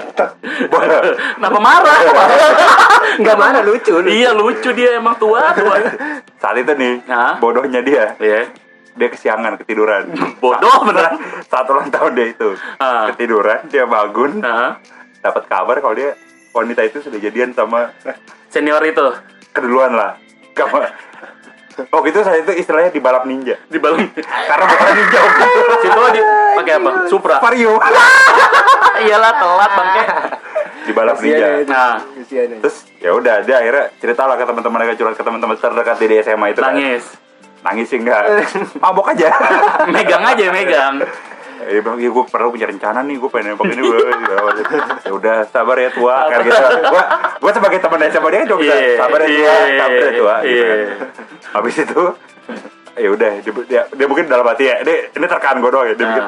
Kenapa marah? Enggak mana lucu. Iya lucu dia emang tua. Saat itu nih, Hah? bodohnya dia. Iya. Dia kesiangan, ketiduran. Bodoh beneran. Saat ulang tahun dia itu. Ah. Ketiduran, dia bangun, Nah, dapat kabar kalau dia wanita itu sudah jadian sama senior itu keduluan lah. Kamu Oh gitu, saat itu istilahnya di balap ninja. di balon. Karena bukan ninja waktu itu. Situ di pakai apa? Supra. Vario. Iyalah telat bangke. Di balap ninja. Nah, Terus ya udah, dia akhirnya cerita lah ke teman-teman, curhat ke teman-teman terdekat di SMA itu kan. Nangis sih enggak. Mabok aja. Megang aja, megang. Dia bilang, gue perlu punya rencana nih, gue pengen nembak ini gue. Ya udah, sabar ya tua, kayak gitu. Gue sebagai teman SMA dia kan cuma bisa sabar ya tua, sabar ya tua. Gitu kan. Habis itu, ya udah, dia mungkin dalam hati ya, ini terkaan gue doang ya. Dia mungkin,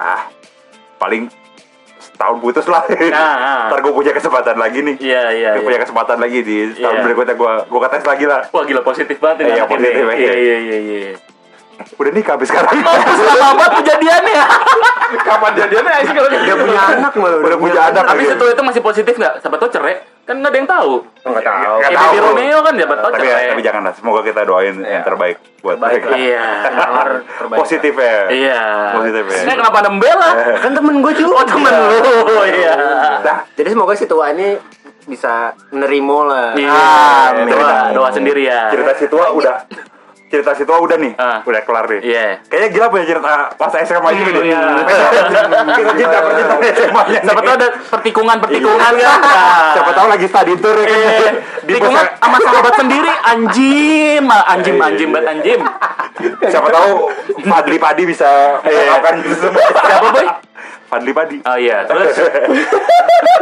paling setahun putus lah. Ntar gue punya kesempatan lagi nih. Iya. Gue punya kesempatan lagi di tahun berikutnya gue ketes lagi lah. Wah gila positif banget ini. Iya, anak positif ini. aja. Iya. Udah nikah habis sekarang. Lama banget kejadiannya. Kapan jadiannya sih kalau Dia punya anak malah. Udah punya anak. Tapi situ itu masih positif nggak? Siapa tahu cerai. Kan nggak ada yang tahu. Enggak tahu. Nggak Kayak tahu. Baby Romeo kan siapa tahu cerai. Tapi jangan lah, semoga kita doain yang terbaik buat mereka. Iya. Positif ya. Iya. Positif ya. Nah, kenapa ada membela? Kan temen gue juga. Oh temen lu. Iya. Nah, Jadi semoga si tua ini bisa nerimo lah. Iya. Amin. Doa sendiri ya. cerita si tua udah nih, udah kelar nih. Iya. Kayaknya gila punya cerita pas SMA juga nih. Iya. Kita cinta SMA-nya. Siapa tahu ada pertikungan kan. Siapa tahu lagi study tour ya kan. Di Tikungan sama sahabat sendiri anjim banget anjim. Siapa tahu Fadli Padi bisa melakukan itu semua. Siapa boy? Fadli Padi. Oh iya, terus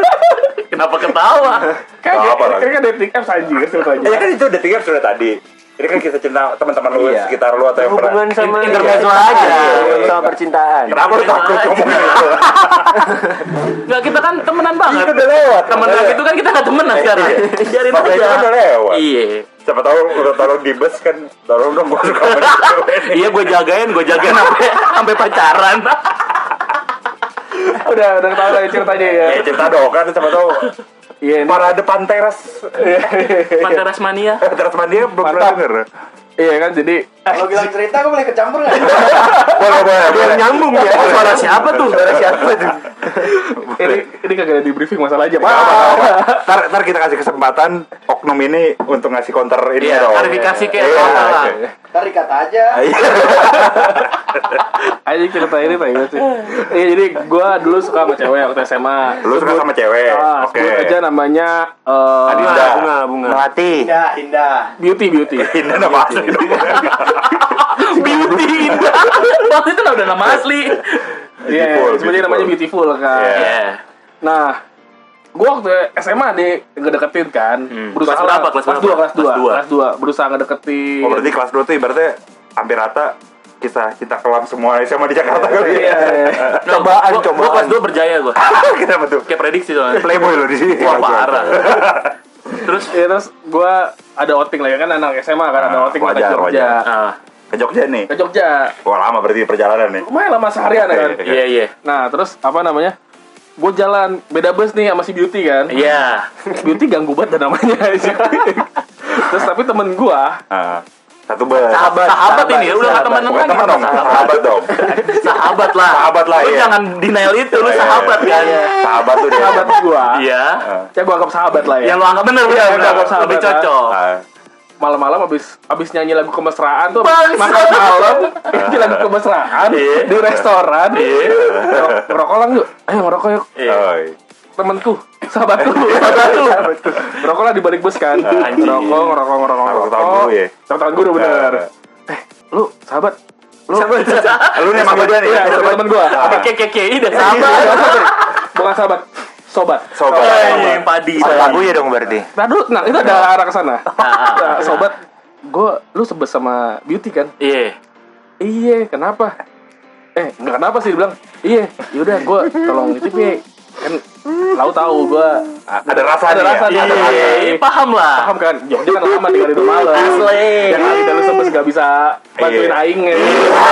kenapa ketawa? Apa lagi? Kan dating apps anjing kan ceritanya. Ya kan itu udah tiga sudah tadi. Ini kan kisah cinta teman-teman lu Iya. sekitar lu atau yang pernah. Hubungan sama intermezzo iya, aja. hubungan sama percintaan. Kenapa lu takut ngomongin itu? Enggak, kita kan temenan banget. Itu udah lewat. Temenan itu kan kita enggak temenan sekarang. Biarin Masa itu kan aja. udah lewat. Iya. Siapa tahu udah tolong di bus kan, tolong dong gue suka sama cewek nih. Iya, gue jagain sampai pacaran. Udah tahu lah ceritanya ya. Ya cerita dong kan, siapa tahu Iya, ini parade Panteras. Panteras mania. Panteras Mania belum pernah Mantap. denger. iya kan jadi Kalau bilang cerita aku boleh kecampur nggak? Boleh. Nyambung ya. Suara siapa tuh? ini kagak ada di briefing masalah aja, Pak. Ntar kita kasih kesempatan oknum ini untuk ngasih counter ini Iya, dong. klarifikasi kayak Iya, apa lah. iya. Tarik kata aja. Aja cerita ini Pak sih. Iya, jadi gua dulu suka sama cewek waktu SMA. Lu suka sama cewek? Oke. Sebut aja namanya Bunga. Melati. Indah. Beauty. Indah nama asli dong. Beauty Indah. Waktu itu udah nama asli. Iya, Beautiful, sebut aja namanya Beautiful kan. Iya. Iya. Nah, gua waktu SMA ngedeketin kan. Berusaha Kelas berapa? Kelas berapa? Kelas 2. Berusaha ngedeketin. Oh berarti kelas 2 tuh ibaratnya hampir rata kisah cinta kelam semua SMA di Jakarta kali ya. Iya. Cobaan. Gue kelas 2 berjaya gue. Kenapa tuh? Kayak prediksi soalnya. Playboy lo di sini. Wah, parah. Terus Terus gua ada outing lah ya kan anak SMA kan ada outing ke wajar, Jogja. wajar. ah, Ke Jogja nih. Ke Jogja. Wah lama berarti perjalanan nih. Lumayan lama seharian ya kan. Oke. iya. Nah, terus apa namanya? Gue jalan beda bus nih sama si Beauty kan. Iya. Beauty ganggu banget dah namanya. Terus tapi temen gua Satu bus. Sahabat ini ya, udah nggak temenan Bukan lagi. teman dong, sahabat dong. Sahabat lah. Sahabat lah, Lu iya. jangan denial itu, lu Iya, sahabat iya. kan. Sahabat tuh dia. sahabat gua. Iya. Ya gua anggap sahabat lah ya. Yang lu anggap bener. Iya, gua anggap sahabat Lebih lah. cocok. Ah. Malam-malam abis nyanyi lagu kemesraan tuh Bangsat. makan malam nyanyi lagu kemesraan Iya. di restoran. Iya. Ngerokok lang yuk. Ayo ngerokok yuk. Oi. Temenku, sahabatku. Ngerokok lah di balik bus kan. Anjing. Ngerokok. Tepuk tangan guru ya? Tepuk tangan guru bener. Lu sahabat. Lu Lu nih emang dia nih. Iya, temen gua. KKI dah Sahabat. sahabat. Bukan sahabat. Sobat. Sobat. Yang padi. Lagu ya dong berarti. Nah, dulu, nah itu ada arah ke sana. Nah, sobat, lu sebes sama Beauty kan? Iya. Iya, kenapa? Enggak kenapa sih, dia bilang. Iya, yaudah gue tolong nitip ya. Kan lau tahu gue Ada rasa ada nih rasa ya? nih. Iya, paham lah. Paham kan? Jogja kan lama tinggal di rumah lo. Asli. Yang lain lu sebes gak bisa bantuin Iya. aing ya.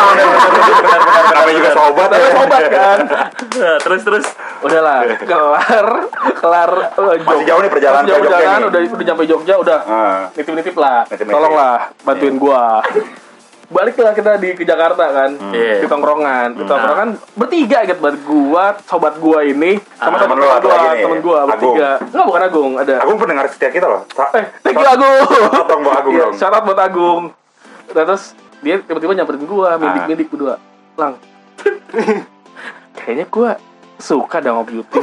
Namanya juga sobat. Tapi sobat kan. Nah, terus. Udahlah, kelar Masih jauh nih perjalanan Masih jauh ke Jogja perjalanan, nih. udah nyampe Jogja udah. Nitip-nitip lah. Nitip-nitip. Tolonglah bantuin gua. Baliklah kita ke Jakarta kan. Iya. Di tongkrongan. Di tongkrongan bertiga gitu buat gua, sobat gua ini sama temen lu atau lagi nih? temen gua bertiga. Enggak, bukan Agung, ada. Agung pendengar setia kita loh. Thank you Agung. Potong buat Agung Iya, dong. shout out buat Agung. Nah, terus dia tiba-tiba nyamperin gua, mindik-mindik berdua. Lang. Kayaknya gua suka dah sama Beauty.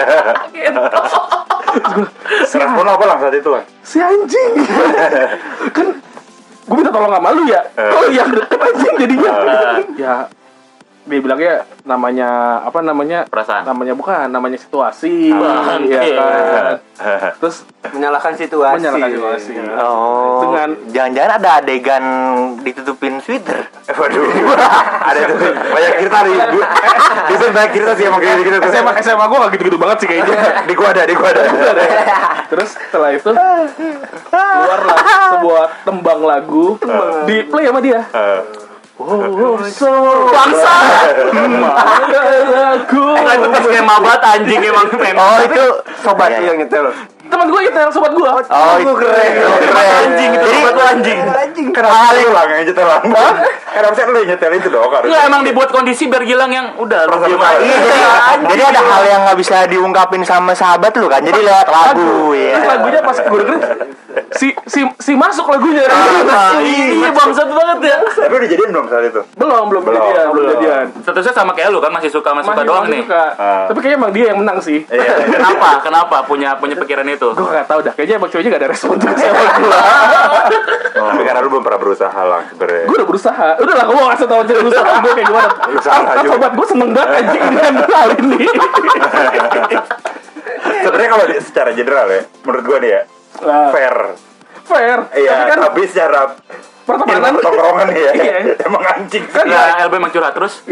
Respon lo apa lah saat itu lah? Si anjing. Kan gue minta tolong sama lu ya. Oh iya deket anjing jadinya. Ya dia bilangnya namanya apa namanya? Perasaan. Namanya bukan, namanya situasi. Bangke. Iya kan. Terus Menyalahkan situasi. menyalahkan situasi. Oh. Dengan- Jangan-jangan ada adegan ditutupin sweater. Waduh. Ada tuh banyak cerita nih. Itu banyak cerita sih emang kayak gitu. SMA gue gak gitu-gitu banget sih kayaknya. Di gua ada. Terus setelah itu keluarlah sebuah tembang lagu di play sama dia. Bangsa. Lagu. Kan itu skema banget anjing emang men. Oh, itu sobat Itu yang nyetel. Teman gue itu sobat gue. Oh, itu keren. Anjing itu sobat lu anjing. Kenapa lu lah yang nyetel lah? Kan harusnya lu yang nyetel itu dong harusnya. Enggak, emang dibuat kondisi biar Gilang yang udah lu diem aja. Iya, jadi ada hal yang nggak bisa diungkapin sama sahabat lu kan, jadi lewat lagu Terus ya. lagunya pas gue dengerin si masuk lagunya. Iya bangsat banget ya. Tapi udah jadian belum saat itu? Belum jadian. Statusnya sama kayak lu kan, masih suka doang nih. Suka. Tapi kayaknya emang dia yang menang sih. Kenapa punya pikiran itu? Gue gak tau dah. Kayaknya emang cowoknya gak ada respon juga sama gue. Tapi karena lu belum pernah berusaha lah sebenarnya. Gue udah berusaha. Udah lah, gue mau ngasih tau cerita usaha gue kayak gimana. Usaha Kan juga. sobat gue seneng banget anjing dengan hal ini. Sebenarnya kalau secara general ya, menurut gua nih ya, Nah, fair fair. Iya, Tapi kan tapi secara pertemanan tongkrongan ya. Iya. Emang anjing. Ya, LB emang curhat terus.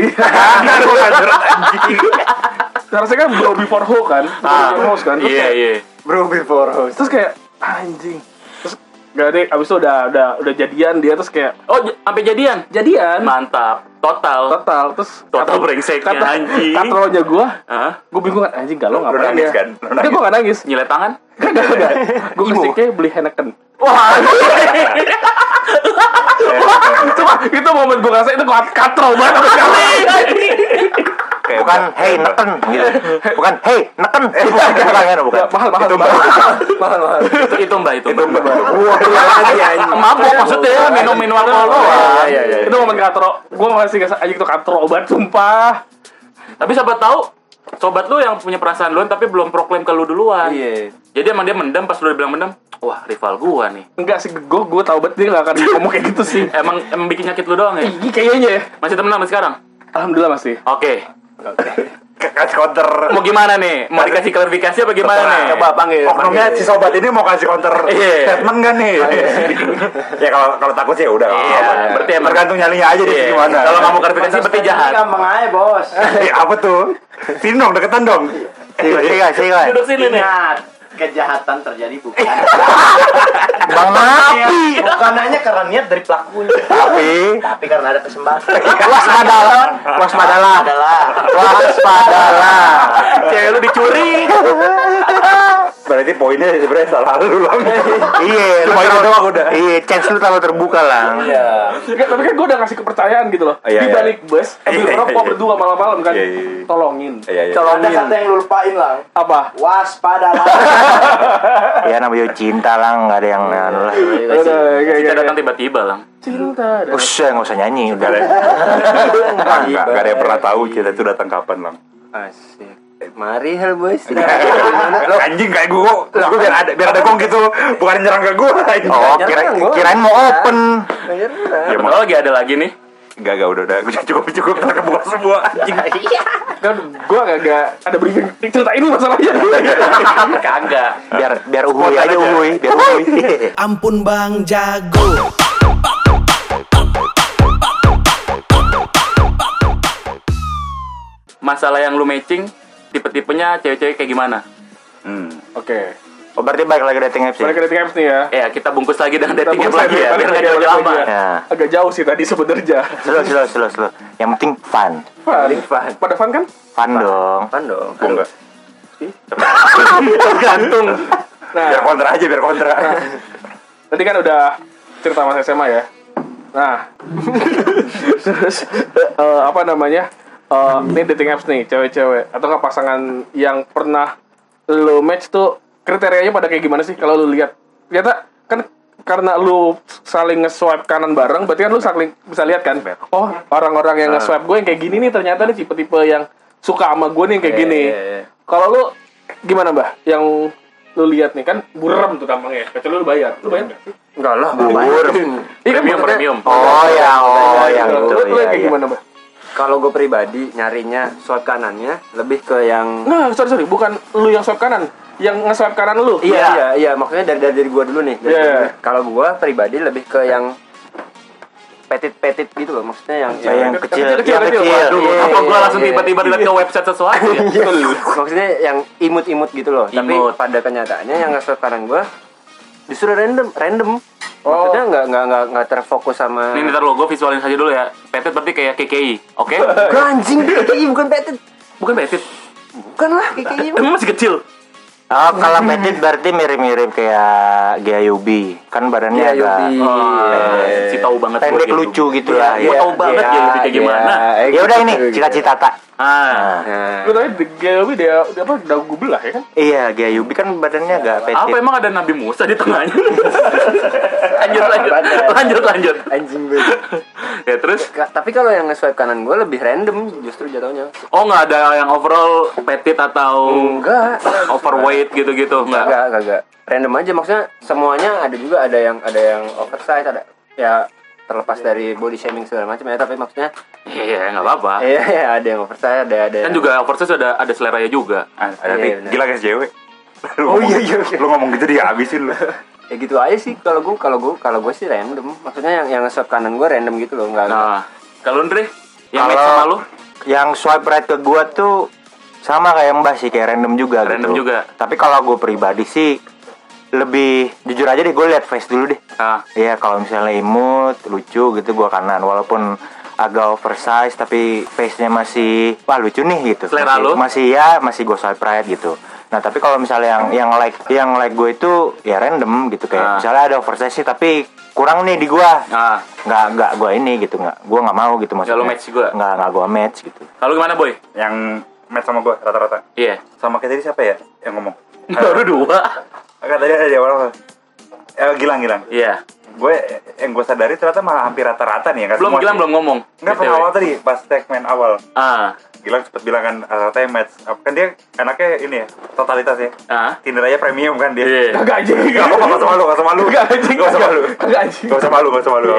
harusnya kan bro before hoe kan. Before host kan. Terus Iya, kayak, iya. Bro before host. terus kayak anjing. Terus gak ada abis itu udah jadian dia terus kayak Oh, sampai jadian. jadian Mantap. Total. terus Total brengseknya, anjing. katronya gue Hah? bingung kan anjing galau Lu ngapain nangis ya kan? Lu enggak nangis. gue gak nangis Nyilet tangan? enggak gue kesiknya beli Heineken Wah, cuma itu momen gue ngerasa itu katro banget sama sekali Kayak Bukan hey neken gitu. Bukan hey neken. Bukan. mahal itu Mbak, itu Mbak. Wah, pulang lagi anjing. Mabuk maksudnya, minum alkohol doang. Iya. itu momen katro gue masih ngerasa anjing itu katro banget sumpah Tapi siapa tahu sobat lu yang punya perasaan duluan tapi belum proklaim ke lu duluan. Iya. Jadi emang dia mendem, pas lu udah bilang mendem, wah rival gua nih. enggak sih gue tau banget dia gak akan ngomong kayak gitu sih Emang bikin nyakit lu doang ya? Ih, kayaknya ya Masih temenan sampai sekarang? alhamdulillah masih Oke. kasih counter. Mau gimana nih? Mau dikasih klarifikasi apa gimana nih? Coba panggil. Oknumnya si sobat ini mau kasih counter Iya. statement kan nih? Ya kalau takut sih ya udah. Iya, berarti emang- tergantung nyalinya aja deh Iya. gimana. Kalau nggak mau klarifikasi berarti jahat. Gampang aja, Bos. Apa tuh? Sini dong, deketan dong. Sikat. Duduk sini nih. Ingat, kejahatan terjadi bukan Bang Napi. bukan hanya karena niat dari pelakunya, tapi karena ada kesempatan. Waspadalah. Cewek lu dicuri. Berarti poinnya sebenarnya salah lu lang. Iya, lu Cuma itu terlalu- doang udah. Iya, chance lu terlalu terbuka lah. Enggak, tapi kan gue udah ngasih kepercayaan gitu loh. Iya, Di balik bus, ambil Iya, rokok iya. berdua malam-malam kan. Iya, iya. Tolongin. Iya. Ada satu yang lu lupain lah. Apa? Waspadalah. Ya namanya cinta lah, nggak ada yang anu lah. Udah, Kita datang tiba-tiba lang. cinta. Usah, nggak usah nyanyi udah. Gak ada yang pernah tahu kita itu datang kapan lang. Asik. Mari hal bos. Anjing kayak gue biar ada gong gitu, bukan nyerang ke gue. Oh, kirain mau open. Ya Betul lagi ada lagi nih. Gak udah cukup terkebuka semua anjing. Kan gue gak ada briefing cerita ini masalahnya. Kagak. Biar uhuy aja uhuy, biar uhuy. Ampun Bang Jago. Masalah yang lu matching, tipe-tipenya cewek-cewek kayak gimana? Oke. Oh, berarti balik lagi dating apps ya? Balik ke dating apps nih ya. Ya, kita bungkus lagi dengan Kita dating apps bungkus lagi ya, lagi, biar balik nggak lagi jauh-jauh lagi amat. ya. Ya. Agak jauh sih tadi sebenarnya. Slow. Yang penting fun. Fun. Pada fun kan? Fun dong. Pan dong. Gue enggak. Tergantung. Biar kontra. Tadi kan udah cerita masa SMA ya. Nah, terus apa namanya? Ini dating apps nih, cewek-cewek atau nggak pasangan yang pernah lo match tuh kriterianya pada kayak gimana sih kalau lu lihat? Ternyata kan karena lu saling nge-swipe kanan bareng, berarti kan lu saling bisa lihat kan? Oh, orang-orang yang nge-swipe gue yang kayak gini nih ternyata nih tipe-tipe yang suka sama gue nih yang kayak gini. Kalau lu gimana, Mbah? Yang lu lihat nih kan burem tuh gampangnya. Kecuali lu bayar. Lu bayar nggak sih? Enggak lah, Iya kan maksudnya- Premium. Oh yang itu. Lu Iya, kayak iya. gimana, Mbah? Kalau gue pribadi nyarinya swipe kanannya lebih ke yang Nah, sorry, bukan lu yang swipe kanan, yang nge-swipe kanan lu. Iya, maksudnya dari gue dulu nih. Iya. Kalau gue pribadi lebih ke yang petit gitu loh, maksudnya yang Yang kecil. Kecil. Aduh, Iya, apa gua iya, langsung iya. tiba-tiba lihat ke website sesuatu ya? maksudnya yang imut gitu loh. Tapi Imut. pada kenyataannya yang nge-swipe kanan gue justru random. Maksudnya nggak terfokus sama. Ini ntar lo, gue visualin saja dulu ya. Petit berarti kayak KKI, oke? Gak anjing, KKI bukan petit. Bukan petit, Bukan lah KKI. emang masih kecil. Oh, kalau petit berarti mirip-mirip kayak Gyayubi. Kan badannya Iya, agak Yubi. Si tahu banget pendek gua lucu Gyayubi. gitu lah. Gua tahu banget Gyayubi kayak gimana. Ya udah ini cita-cita tak. Ah, Gue tanya Gyayubi dia apa dagu belah ya kan? Iya, Gyayubi kan badannya agak petit. apa emang ada Nabi Musa di tengahnya? lanjut. Anjing banget. Ya terus? Tapi kalau yang nge-swipe kanan gue lebih random justru jatuhnya. Oh nggak ada yang overall petit atau Enggak. overweight gitu-gitu nggak? Kagak. Random aja, maksudnya semuanya ada juga, ada yang oversize, ada ya terlepas dari body shaming segala macam ya, tapi maksudnya Iya nggak apa-apa. iya ada yang oversize, ada Kan yang- juga oversize ada seleranya juga. Ada Iya, bener. gila guys cewek. Oh, iya. Lu ngomong gitu dia habisin lu. Ya gitu aja sih kalau gue sih random. Maksudnya yang swipe kanan gue random gitu loh, enggak. Nah, kalau Andre yang Kalau match sama lu yang swipe right ke gua tuh sama kayak Mbak sih, kayak random juga Random gitu. juga. Tapi kalau gue pribadi sih lebih jujur aja deh, gue lihat face dulu deh. Iya, kalau misalnya imut, lucu gitu gua kanan, walaupun agak oversize tapi face-nya masih wah lucu nih gitu. Selera lu? Masih gue swipe right gitu. Nah, tapi kalau misalnya yang like gue itu ya random gitu, kayak misalnya ada oversize sih tapi kurang nih di gua. Nggak gua ini gitu, gua nggak mau gitu maksudnya. Nggak lo match gua? Nggak gua match gitu. Kalau gimana boy? Yang match sama gue rata-rata. Iya. Sama kayak tadi siapa ya yang ngomong? Baru 2. Kan tadi ada di awal. Gilang. Iya. Yang gue sadari ternyata malah hampir rata-rata nih ya. Gilang belum ngomong. Enggak, BTW. awal tadi pas segmen awal. Gilang cepet bilang kan rata-rata yang match. Kan dia anaknya ini ya, totalitas ya. Tinder aja premium kan dia. Iya. Kagak anjing. Gak usah malu. Kagak anjing. Gak usah malu. Kagak anjing. Gak usah malu.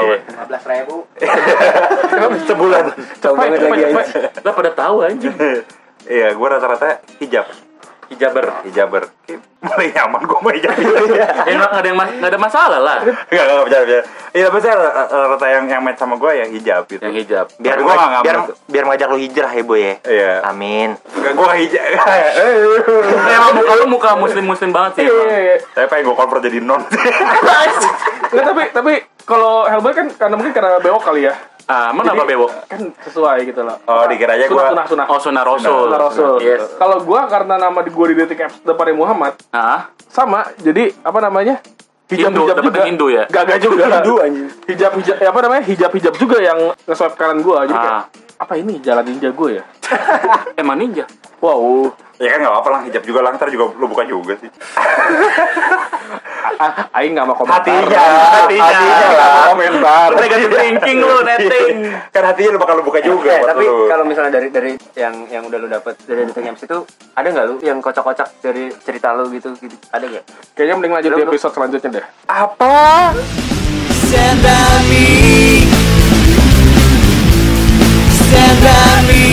15.000. Sebulan. Cepet. Lah pada tahu anjing. Iya, gue rata-rata hijaber. Mulai nyaman gue mau hijab. Nggak ada masalah lah. Enggak bercanda. Iya, tapi saya rata-rata yang match sama gue ya hijab gitu. Yang hijab. Biar Tapi gua nggak biar ngajak lu hijrah ya, Boy ya. Iya. Amin. Enggak, gue nggak hijab. Emang muka lu muka muslim banget sih. Iya. Saya pengen gue convert jadi non. Nggak, tapi kalau Hellboy kan karena bewok kali ya. Emang apa bebo? Kan sesuai gitu loh. Oh, dikiranya gue Sunah. Oh, Sunnah Rasul. Sunah Rasul. Yes. Kalau gua karena nama gue di dating apps depannya Muhammad, sama. Jadi apa namanya? Hindu, hijab dapet juga. Hindu ya? Gak juga. Hindu anjing. Hijab apa namanya? Hijab juga yang nge-swipe kanan gua. Jadi kayak, apa ini jalan ninja gue ya? Emang ninja. Wow. ya kan nggak apa-apa lah, hijab juga lah, ntar juga lu buka juga sih. Aing nggak mau komentar. Hatinya lah komentar. Negative thinking lu, netting. Kan hatinya lu bakal lu buka juga. Tapi lu. kalau misalnya dari yang udah lu dapet dari dating apps itu, ada nggak lu yang kocak-kocak dari cerita lu gitu? Ada nggak? Kayaknya mending lanjut di episode selanjutnya deh. Apa? Stand by me. Stand by me.